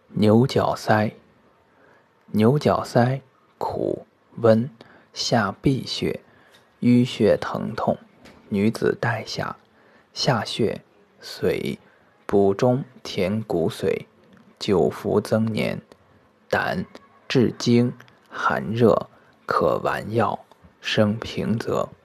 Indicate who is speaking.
Speaker 1: 牛角塞。牛角塞苦温，下闭血，淤血疼痛，女子带下。下血，髓，补中填骨髓，久服增年。胆，治惊，寒热，可丸药，生平泽。